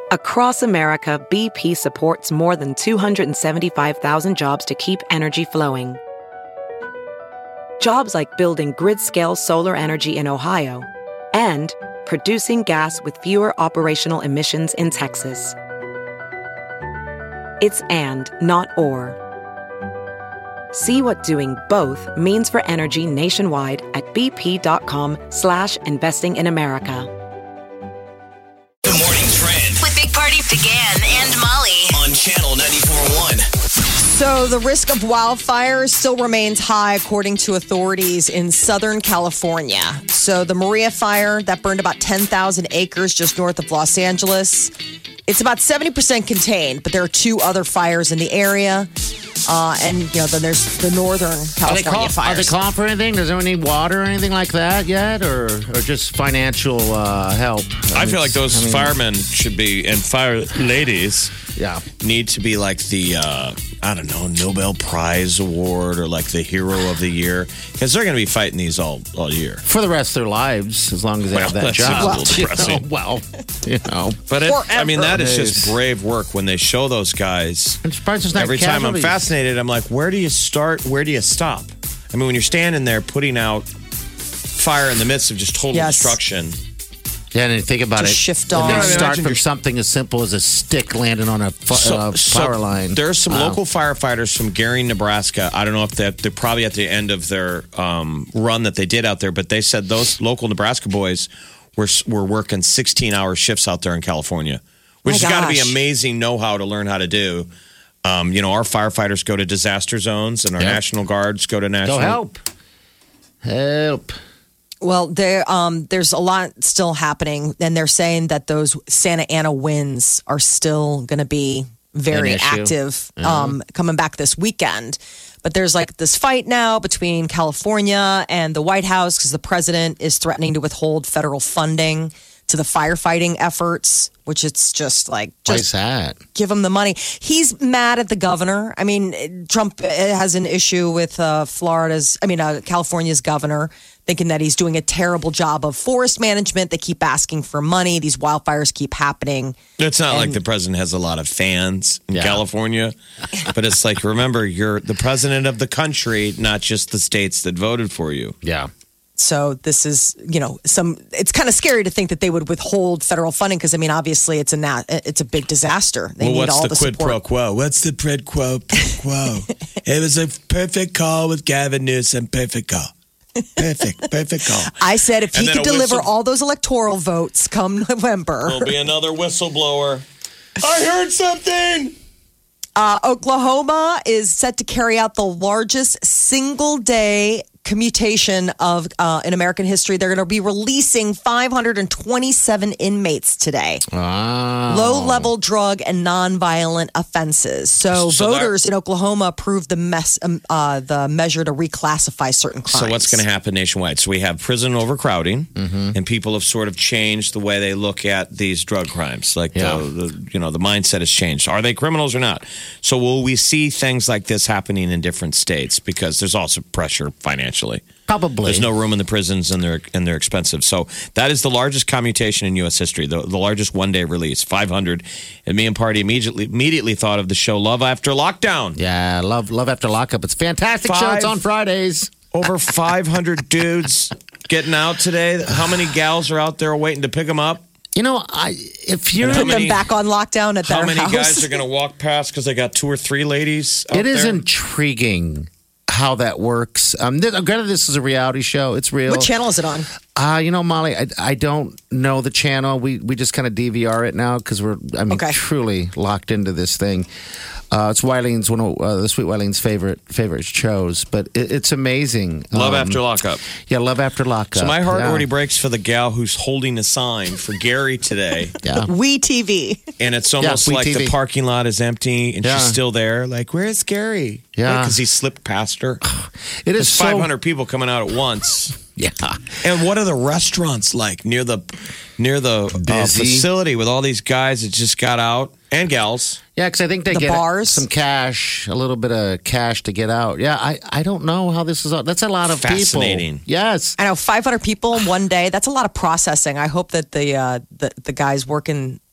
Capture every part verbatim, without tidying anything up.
Across America, B P supports more than two hundred seventy-five thousand jobs to keep energy flowing. Jobs like building grid-scale solar energy in Ohio and producing gas with fewer operational emissions in Texas. It's and, not or. See what doing both means for energy nationwide at bp.com slash investing in America. The Morning Trend With Big Party began and Molly on Channel ninety-four point one. So the risk of wildfires still remains high, according to authorities in Southern California. So the Maria fire that burned about ten thousand acres just north of Los Angeles, it's about seventy percent contained, but there are two other fires in the area. Uh, and, you know, then there's the Northern California Are they, call, fires. are they calling for anything? Does anyone need water or anything like that yet? Or, or just financial uh, help? I, I feel mean, like those I mean, firemen should be, and fire ladies Yeah. need to be like the, uh, I don't know, Nobel Prize Award or like the Hero of the Year. Because they're going to be fighting these all, all year. For the rest of their lives, as long as they Well, have that that seems job. a little depressing. You know, well, you know. But it, I mean, that is Forever. just brave work when they show those guys. I'm surprised there's not Every time I'm casualties. fascinated, I'm like, where do you start? Where do you stop? I mean, when you're standing there putting out fire in the midst of just total Yes. destruction. Yeah, and you think about Just it. shift and off. then Yeah, I start imagine from you're- something as simple as a stick landing on a fu- So- uh, so power line. There's some Wow. local firefighters from Gary, Nebraska. I don't know if they're, they're probably at the end of their um, run that they did out there, but they said those local Nebraska boys were were working sixteen hour shifts out there in California, which My has got to be gosh. amazing know-how to learn how to do. Um, you know, our firefighters go to disaster zones, and our Yep. National Guards go to national. Go help. Help. Well, there, um, there's a lot still happening, and they're saying that those Santa Ana winds are still going to be very An issue. active um, coming back this weekend. But there's like this fight now between California and the White House because the president is threatening to withhold federal funding to the firefighting efforts, which it's just like, Why just is that? give him the money. He's mad at the governor. I mean, Trump has an issue with uh, Florida's, I mean, uh, California's governor, thinking that he's doing a terrible job of forest management. They keep asking for money. These wildfires keep happening. It's not like And- the president has a lot of fans in Yeah. California, but it's like, remember, you're the president of the country, not just the states that voted for you. Yeah. So this is, you know, some. It's kind of scary to think that they would withhold federal funding because, I mean, obviously it's a nat, it's a big disaster. They Well, need what's all the, the, quid support. pro quo? What's the quid pro quo? It was a perfect call with Gavin Newsom. Perfect call. Perfect, perfect call. I said if And he then could a deliver whistle- all those electoral votes come November. There'll be another whistleblower. I heard something. Uh, Oklahoma is set to carry out the largest single day commutation of uh, in American history. They're going to be releasing five hundred twenty-seven inmates today. Wow. Low level drug and nonviolent offenses. So, So that- voters in Oklahoma approved the mess, um, uh, the measure to reclassify certain crimes. So what's going to happen nationwide? So we have prison overcrowding, and people have sort of changed the way they look at these drug crimes. Like Yeah. the, the you know the mindset has changed. Are they criminals or not? So will we see things like this happening in different states? Because there's also pressure financially. Probably. There's no room in the prisons, and they're and they're expensive. So that is the largest commutation in U S history, the, the largest one day release, five hundred. And me and Party immediately immediately thought of the show Love After Lockdown. Yeah, love love after lockup. It's a fantastic show. Five- It's on Fridays. Over five hundred dudes getting out today. How many gals are out there waiting to pick them up? You know, I if you're How Put many- them back on lockdown at How their many house. guys are going to walk past because they got two or three ladies out it is there? intriguing how that works. Um, th- granted, this is a reality show. It's real. What channel is it on? Uh, you know, Molly, I, I don't know the channel. We we just kind of D V R it now because we're, I mean, Okay. truly locked into this thing. Uh, it's Wileen's one of uh, the Sweet Wileen's favorite favorite shows, but it, it's amazing. Love Um, After Lockup. Yeah, Love After Lockup. So my heart yeah. already breaks for the gal who's holding a sign for Gary today. Yeah. We T V. And it's almost Yeah, like We T V. the parking lot is empty and Yeah. she's still there. Like, where's Gary? Yeah. Because he slipped past her. It There's is so, five hundred people coming out at once. Yeah. And what are the restaurants like near the near the uh, Busy. facility with all these guys that just got out and gals? Yeah, because I think they The get bars? some cash, a little bit of cash to get out. Yeah, I, I don't know how this is. all- That's a lot of Fascinating. people. Yes. I know five hundred people in one day. That's a lot of processing. I hope that the uh, the, the guys working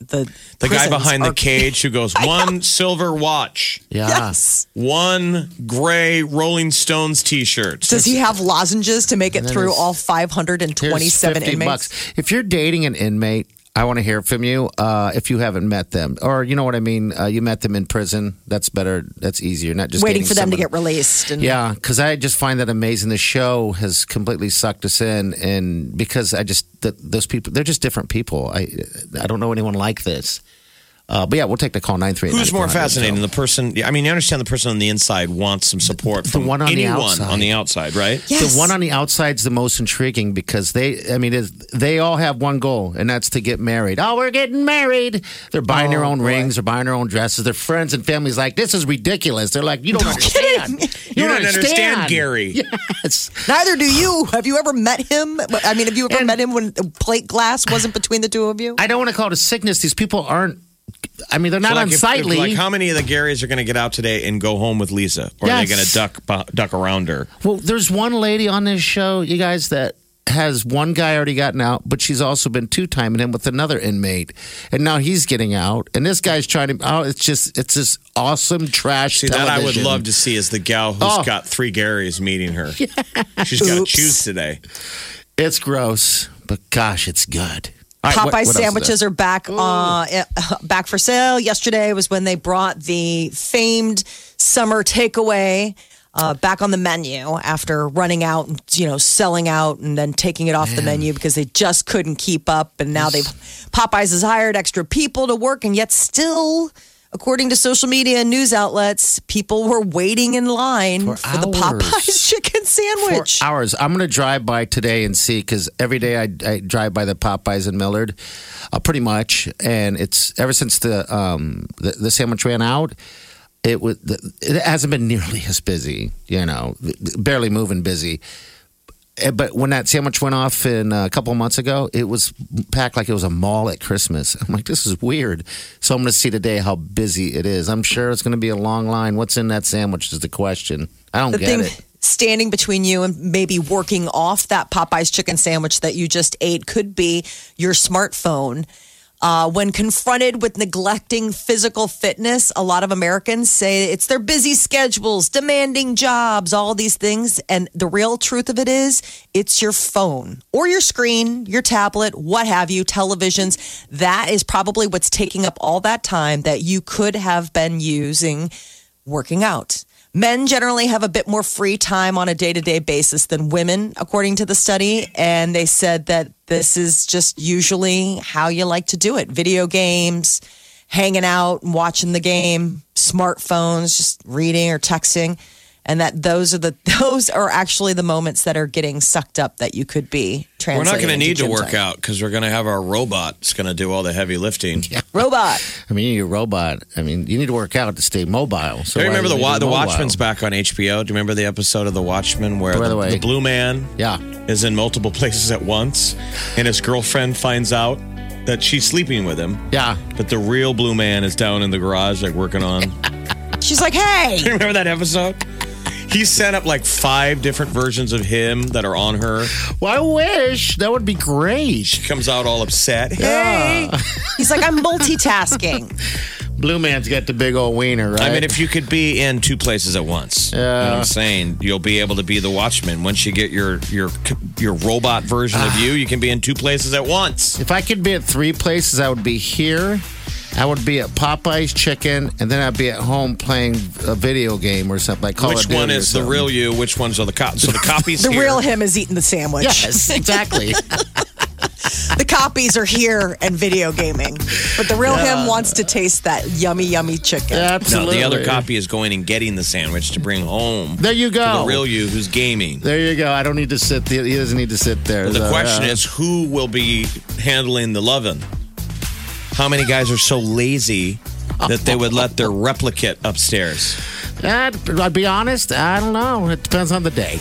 the The guy prisons behind the are- cage who goes, one silver watch, Yeah. Yes. one gray Rolling Stones t-shirt. Does he have lozenges to make it then through there's- all five hundred Here's twenty-seven fifty inmates? bucks. If you're dating an inmate, I want to hear from you. Uh, if you haven't met them, or you know what I mean, uh, you met them in prison. That's better. That's easier. Not just Waiting dating for them to someone. get released. And Yeah, because I just find that amazing. The show has completely sucked us in, and because I just th- those people, they're just different people. I I don't know anyone like this. Uh, but yeah, we'll take the call nine three eight. Who's more fascinating, the person? I mean, you understand the person on the inside wants some support from one on the anyone outside. on the outside, right? Yes. The one on the outside's the most intriguing because they, I mean, it's- they all have one goal, and that's to get married. Oh, we're getting married. They're buying their Oh, own boy. rings. They're buying their own dresses. Their friends and families like, this is ridiculous. They're like, you don't understand. You don't understand, Gary. Yes. Neither do you. Have you ever met him? I mean, have you ever And- met him when plate glass wasn't between the two of you? I don't want to call it a sickness. These people aren't, I mean, they're not So like if- if, unsightly. like, how many of the Garys are going to get out today and go home with Lisa, or are they Yes. going to duck bu- duck around her? Well, there's one lady on this show, you guys, that has one guy already gotten out, but she's also been two timing him with another inmate, and now he's getting out, and this guy's trying to. Oh, it's just, it's this awesome trash. See, that I would television. love to see is the gal who's Oh. got three Garys meeting her. She's got to Oops. choose today. It's gross, but gosh, it's good. All right, Popeye what- what else is sandwiches there? are back uh, eh, back for sale. Yesterday was when they brought the famed summer takeaway uh, back on the menu after running out and you know selling out and then taking it off the menu because they just couldn't keep up. And now they've Popeyes has hired extra people to work, and yet still, according to social media and news outlets, people were waiting in line For for, the hours. Popeyes chicken For sandwich. hours. I'm going to drive by today and see because every day I, I drive by the Popeyes in Millard, uh, pretty much, and it's ever since the um the, the sandwich ran out. It was it hasn't been nearly as busy, you know, barely moving busy. Eh, But when that sandwich went off in uh, a couple of months ago, it was packed like it was a mall at Christmas. I'm like, this is weird. So I'm going to see today how busy it is. I'm sure it's going to be a long line. What's in that sandwich is the question. I don't The get thing it. standing between you and maybe working off that Popeyes chicken sandwich that you just ate could be your smartphone. Uh, when confronted with neglecting physical fitness, a lot of Americans say it's their busy schedules, demanding jobs, all these things. And the real truth of it is, it's your phone or your screen, your tablet, what have you, televisions. That is probably what's taking up all that time that you could have been using working out. Men generally have a bit more free time on a day-to-day basis than women, according to the study. And they said that this is just usually how you like to do it. Video games, hanging out and watching the game, smartphones, just reading or texting. And that those are the those are actually the moments that are getting sucked up that you could be We're not translating. going to need to into gym work time. out because we're going to have our robot that's going to do all the heavy lifting. Robot. I mean, you're a robot. I mean, you need to work out to stay mobile. So Do you why remember the do you Wa- do the mobile? Watchmen's back on H B O? Do you remember the episode of the Watchmen where By the the, way- the blue man Yeah. is in multiple places at once, and his girlfriend finds out that she's sleeping with him, Yeah. but the real blue man is down in the garage like working on. She's like, hey. Do you remember that episode? He set up like five different versions of him that are on her. Well, I wish. That would be great. She comes out all upset. Hey. He's like, I'm multitasking. Blue man's got the big old wiener, right? I mean, if you could be in two places at once, you know what I'm saying, you'll be able to be the Watchman. Once you get your your your robot version of you, you can be in two places at once. If I could be at three places, I would be here. I would be at Popeye's Chicken, and then I'd be at home playing a video game or something like Call Which of Duty one or is the something. real you? Which ones are the copies? So the copies The here. real him is eating the sandwich. Yes, exactly. The copies are here and video gaming. But the real him wants to taste that yummy, yummy chicken. No, Absolutely. the other copy is going and getting the sandwich to bring home. There you To go. the real you who's gaming. There you go. I don't need to sit there. He doesn't need to sit there. The So, question uh, is, who will be handling the lovin'? How many guys are so lazy that they would let their replicate upstairs? I'd, I'd be honest. I don't know. It depends on the day.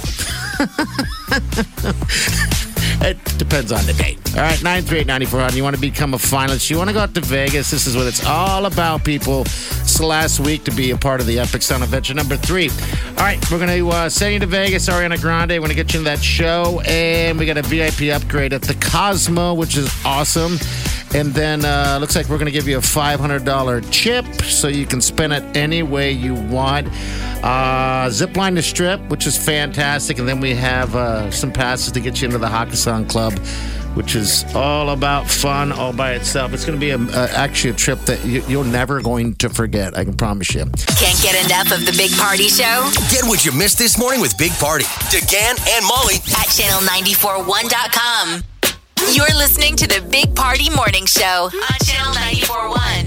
It depends on the day. All right, nine three eight, nine four hundred. You want to become a finalist? You want to go out to Vegas? This is what it's all about, people. It's the last week to be a part of the Epic Sound Adventure number three. All right, we're going to uh, send you to Vegas. Ariana Grande. We're going to get you in that show. And we got a V I P upgrade at the Cosmo, which is awesome. And then uh, looks like we're going to give you a five hundred dollars chip so you can spend it any way you want. Uh, zip line to Strip, which is fantastic. And then we have uh, some passes to get you into the Hakkasan Club, which is all about fun all by itself. It's going to be a, a, actually a trip that you, you're never going to forget. I can promise you. Can't get enough of the Big Party Show Get what you missed this morning with Big Party, DeGan and Molly at channel nine four one dot com. You're listening to the Big Party Morning Show on channel nine four one.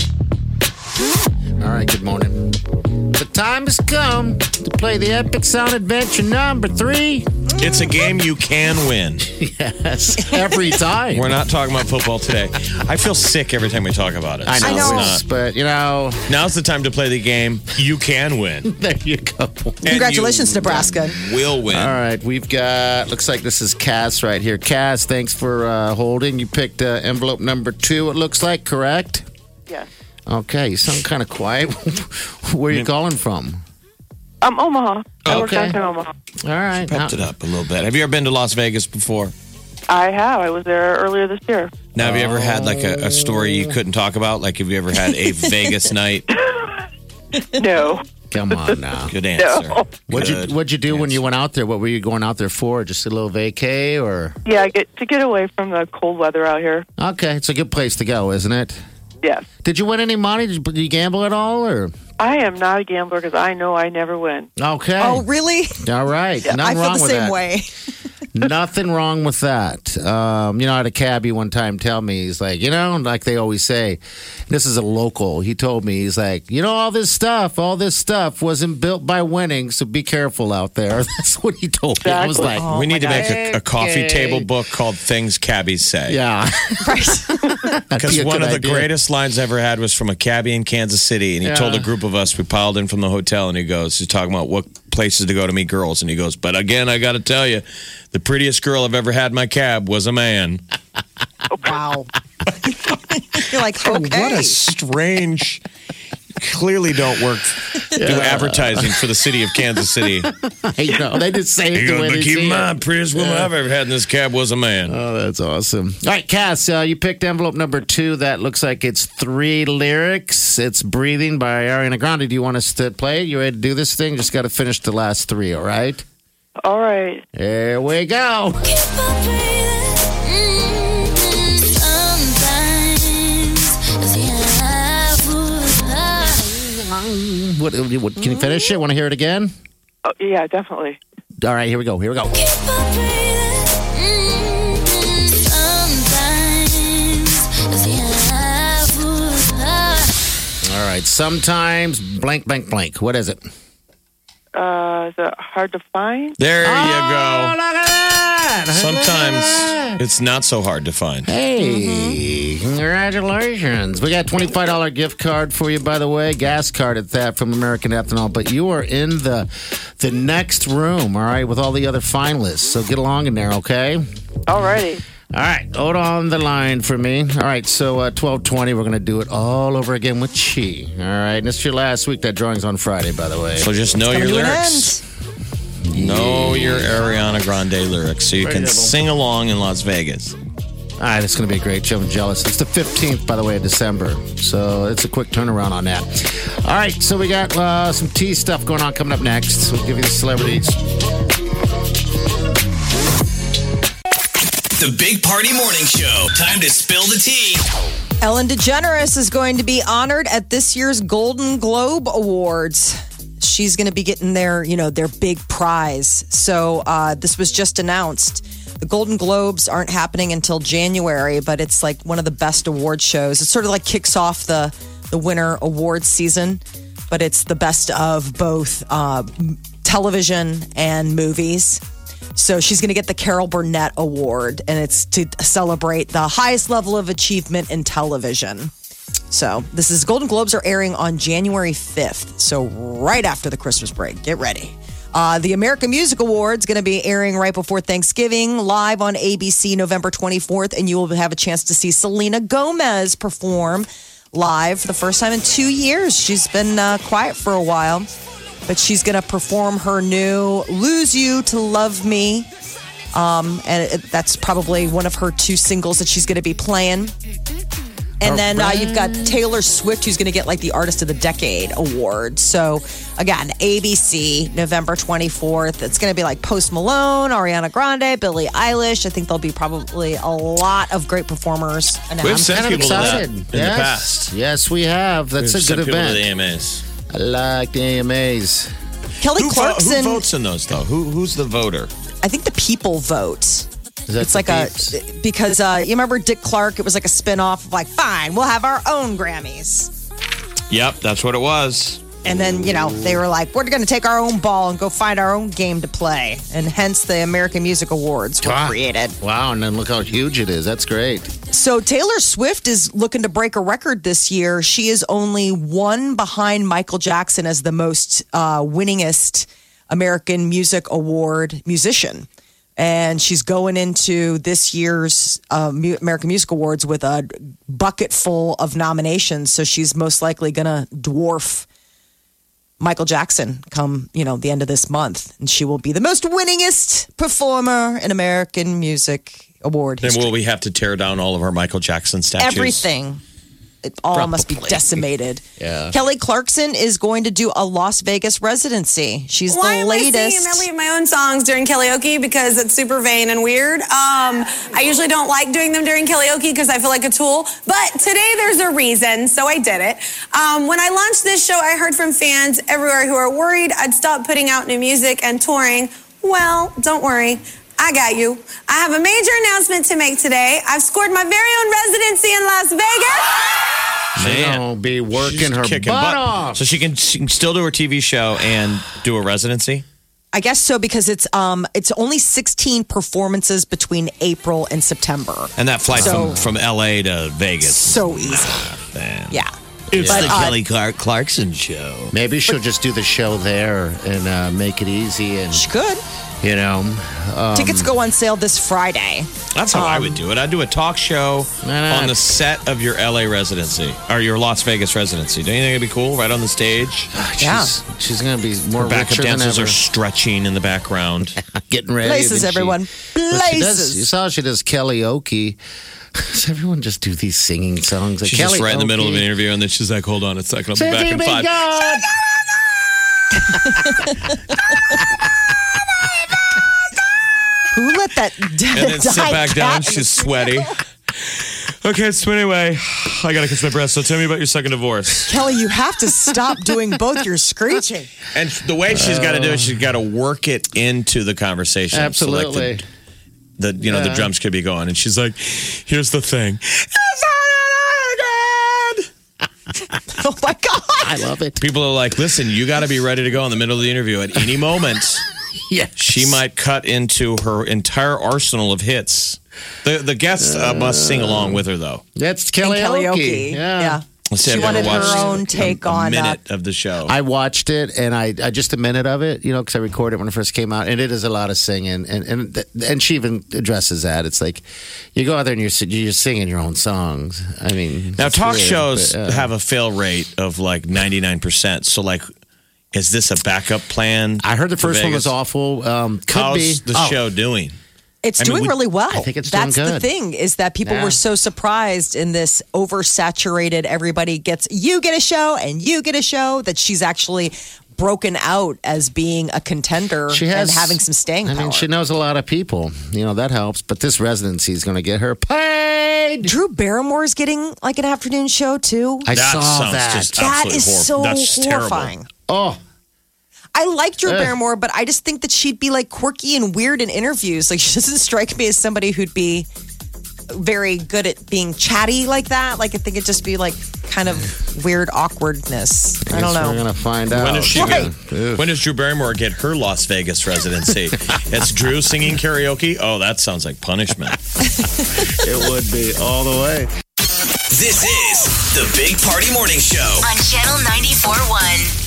All right, good morning. The time has come to play the Epic Sound Adventure number three. It's a game you can win. Yes, every time. We're not talking about football today. I feel sick every time we talk about it. I know, I know. it's- but you know, Now's the time to play the game you can win. there you go. And Congratulations, you Nebraska. Will win. All right, we've got, looks like this is Cass right here. Cass, thanks for uh, holding. You picked uh, envelope number two, it looks like, correct? Yes. Okay, you sound kind of quiet. Where are you calling from? Um, Omaha. I work Okay. downtown Omaha. All right. Pepped it up a little bit. Have you ever been to Las Vegas before? I have. I was there earlier this year. Now, have you ever had like a, a story you couldn't talk about? Like, have you ever had a Vegas night? No. Come on now. Good answer. No. What'd you Good What'd you do when you answer. went out there? What were you going out there for? Just a little vacay, or? Yeah, I get to get away from the cold weather out here. Okay, it's a good place to go, isn't it? Yes. Did you win any money? Did you, did you gamble at all, or? I am not a gambler because I know I never win. Okay. Oh, really? All right. Nothing I feel wrong the with same that. way. Nothing wrong with that. Um, you know, I had a cabbie one time tell me, he's like, you know, like they always say, this is a local. He told me, he's like, you know, all this stuff, all this stuff wasn't built by winning, so be careful out there. That's what he told me. I was Exactly. like, we need to my make a, a coffee Okay. table book called Things Cabbies Say. yeah. Because one of the greatest lines I ever had was from a cabbie in Kansas City. And he Yeah. told a group of us, we piled in from the hotel, and he goes, he's talking about what places to go to meet girls. And he goes, but again, I got to tell you, the prettiest girl I've ever had in my cab was a man. Wow. You're like, Oh, okay. what a strange. Clearly don't work, do advertising for the city of Kansas City. I know. They just say it He the goes, way but they keep say in it. mind, prettiest woman I've ever had in this cab was a man. Oh, that's awesome. All right, Cass, uh, you picked envelope number two. That looks like it's three lyrics. It's Breathing by Ariana Grande. Do you want us to play it? You ready to do this thing? Just got to finish the last three, all right? All right. Here we go. What, what, can you finish it? Want to hear it again? Oh, yeah, definitely. All right, here we go. Here we go. All right, sometimes blank, blank, blank. What is it? Uh, is it hard to find? There you Oh, go. look at that. Sometimes it's not so hard to find. Hey, congratulations. We got a twenty-five dollars gift card for you, by the way. Gas card at that from American Ethanol. But you are in the the next room, all right, with all the other finalists. So get along in there, okay? All righty. All right, hold on the line for me. All right, so uh, twelve twenty, we're going to do it all over again with Chi. All right, and it's your last week. That drawing's on Friday, by the way. So just know your Coming to an lyrics. Know your Ariana Grande lyrics so you can Devil. sing along in Las Vegas. All right, it's going to be a great show. I'm jealous. It's the fifteenth, by the way, of December. So it's a quick turnaround on that. All right, so we got uh, some tea stuff going on coming up next. We'll give you the celebrities. The Big Party Morning Show. Time to spill the tea. Ellen DeGeneres is going to be honored at this year's Golden Globe Awards. She's going to be getting their, you know, their big prize. So uh, this was just announced. The Golden Globes aren't happening until January, but it's like one of the best award shows. It sort of like kicks off the the winter awards season, but it's the best of both uh, television and movies. So she's going to get the Carol Burnett Award, and it's to celebrate the highest level of achievement in television. So this is Golden Globes are airing on January fifth. So right after the Christmas break. Get ready. Uh, the American Music Awards going to be airing right before Thanksgiving, live on A B C November twenty-fourth, and you will have a chance to see Selena Gomez perform live for the first time in two years. She's been uh, quiet for a while, but she's going to perform her new Lose You to Love Me. Um, and it, that's probably one of her two singles that she's going to be playing. And then uh, you've got Taylor Swift, who's going to get like the Artist of the Decade award. So again, A B C, November twenty-fourth. It's going to be like Post Malone, Ariana Grande, Billie Eilish. I think there'll be probably a lot of great performers. We've I'm sent kind of people to that excited. in yes. the past. Yes, we have. That's We've a sent good people event. to the A M As. I like the A M As. Kelly Who, vo- Clarkson. who votes in those, though? Who, who's the voter? I think the people vote. Is that It's the like a peeps? because uh, you remember Dick Clark? It was like a spinoff of like, fine, we'll have our own Grammys. Yep, that's what it was. And then, you know, they were like, we're going to take our own ball and go find our own game to play. And hence the American Music Awards were Ah, created. Wow, and then look how huge it is. That's great. So Taylor Swift is looking to break a record this year. She is only one behind Michael Jackson as the most uh, winningest American Music Award musician. And she's going into this year's uh, Mu- American Music Awards with a bucket full of nominations. So she's most likely going to dwarf Michael Jackson come, you know, the end of this month. And she will be the most winningest performer in American Music Award Then history. will we have to tear down all of our Michael Jackson statues? Everything. It all must be Probably. decimated. Yeah. Kelly Clarkson is going to do a Las Vegas residency. She's Why the am I singing latest. a medley of my own songs during karaoke? Because it's super vain and weird. Um, I usually don't like doing them during karaoke because I feel like a tool. But today there's a reason, so I did it. Um, when I launched this show, I heard from fans everywhere who are worried I'd stop putting out new music and touring. Well, don't worry. I got you. I have a major announcement to make today. I've scored my very own residency in Las Vegas. She's going to be working She's her kicking butt off. So she can, she can still do her T V show and do a residency? I guess so because it's um it's only sixteen performances between April and September. And that flight So- from, from L A to Vegas. So easy. Man. Yeah. It's But, the uh, Kelly Clark Clarkson show. Maybe she'll just do the show there and uh, make it easy. And, She could. you know, um, Tickets go on sale this Friday. That's how I Um, would do it. I'd do a talk show Why not? on the set of your L A residency or your Las Vegas residency. Don't you think it'd be cool? Right on the stage. she's, Yeah. she's going to be more Her backup richer than dancers ever. are stretching in the background. Getting ready. Places, and she- everyone. But she does- Places. you saw she does karaoke. Does everyone just do these singing songs? Like She's just right in the middle of an karaoke? interview, and then she's like, "Hold on a second, I'll be back in City five. God. Who let that And then sit back down. She's sweaty. Okay, so anyway, I gotta catch my breath. So tell me about your second divorce. Kelly, you have to stop doing both your screeching. And the way she's got to do it, she's got to work it into the conversation. Absolutely. So like the, the, you know, the Yeah. drums could be going, and she's like, "Here's the thing." Oh my God. I love it. People are like, "Listen, you got to be ready to go in the middle of the interview at any moment." Yeah. She might cut into her entire arsenal of hits. The the guests uh, must sing along with her, though. That's And karaoke. karaoke. Yeah. Yeah. Let's see, She I've never wanted her watched own take a, a on, uh, minute of the show. I watched it and I, I just a minute of it, you know, because I recorded it when it first came out, and it is a lot of singing, and and th- and she even addresses that. It's like you go out there and you're si- you're singing your own songs. I mean, now it's talk weird, shows but, uh, have a fail rate of like ninety-nine percent. So like, is this a backup plan? I heard the for first one was Vegas? awful. Um, could How's be the Oh, show doing? It's I mean, doing we- really well. I think it's doing That's the good. thing is that people Yeah. were so surprised in this oversaturated. Everybody gets you get a show and you get a show that she's actually broken out as being a contender She has and having some staying I power. mean, she knows a lot of people. You know that helps. But this residency is going to get her paid. Drew Barrymore's getting like an afternoon show too. I That saw sounds that. just That absolutely is horrible. so That's terrible. horrifying. oh, I like Drew Ugh. Barrymore, but I just think that she'd be like quirky and weird in interviews. Like she doesn't strike me as somebody who'd be very good at being chatty like that. Like I think it'd just be like kind of weird awkwardness. I don't guess know. We're going to find out. When is she? Right. Gonna, when does Drew Barrymore get her Las Vegas residency? It's Drew singing karaoke. Oh, that sounds like punishment. It would be all the way. This is the Big Party Morning Show. On Channel ninety-four point one.